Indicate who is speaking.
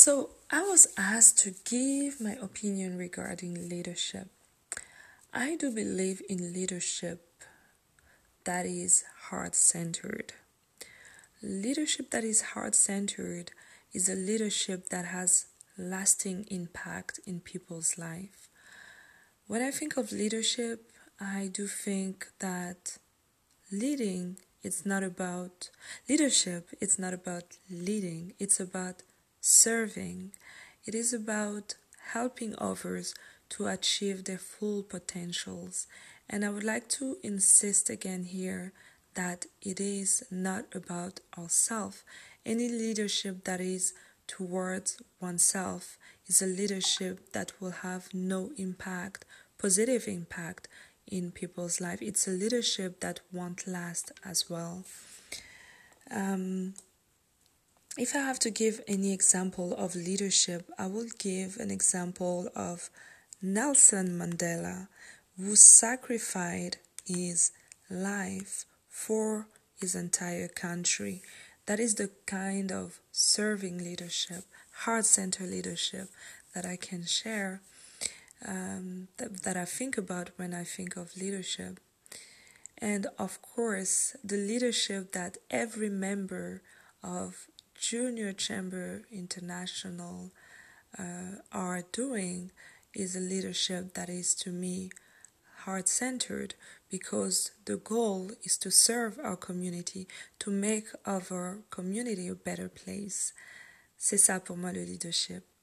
Speaker 1: So, I was asked to give my opinion regarding leadership. I do believe in leadership that is heart centered. Leadership that is heart centered is a leadership that has lasting impact in people's life. When I think of leadership, I do think that leading it's not about leadership, it's not about leading, it's about serving. It is about helping others to achieve their full potentials. And I would like to insist again here that it is not about ourselves. Any leadership that is towards oneself is a leadership that will have no impact, positive impact in people's life. It's a leadership that won't last as well. If I have to give any example of leadership, I will give an example of Nelson Mandela, who sacrificed his life for his entire country. That is the kind of serving leadership, heart-centered leadership that I can share, that I think about when I think of leadership. And of course, the leadership that every member of Junior Chamber International are doing is a leadership that is, to me, heart-centered, because the goal is to serve our community, to make our community a better place. C'est ça pour moi le leadership.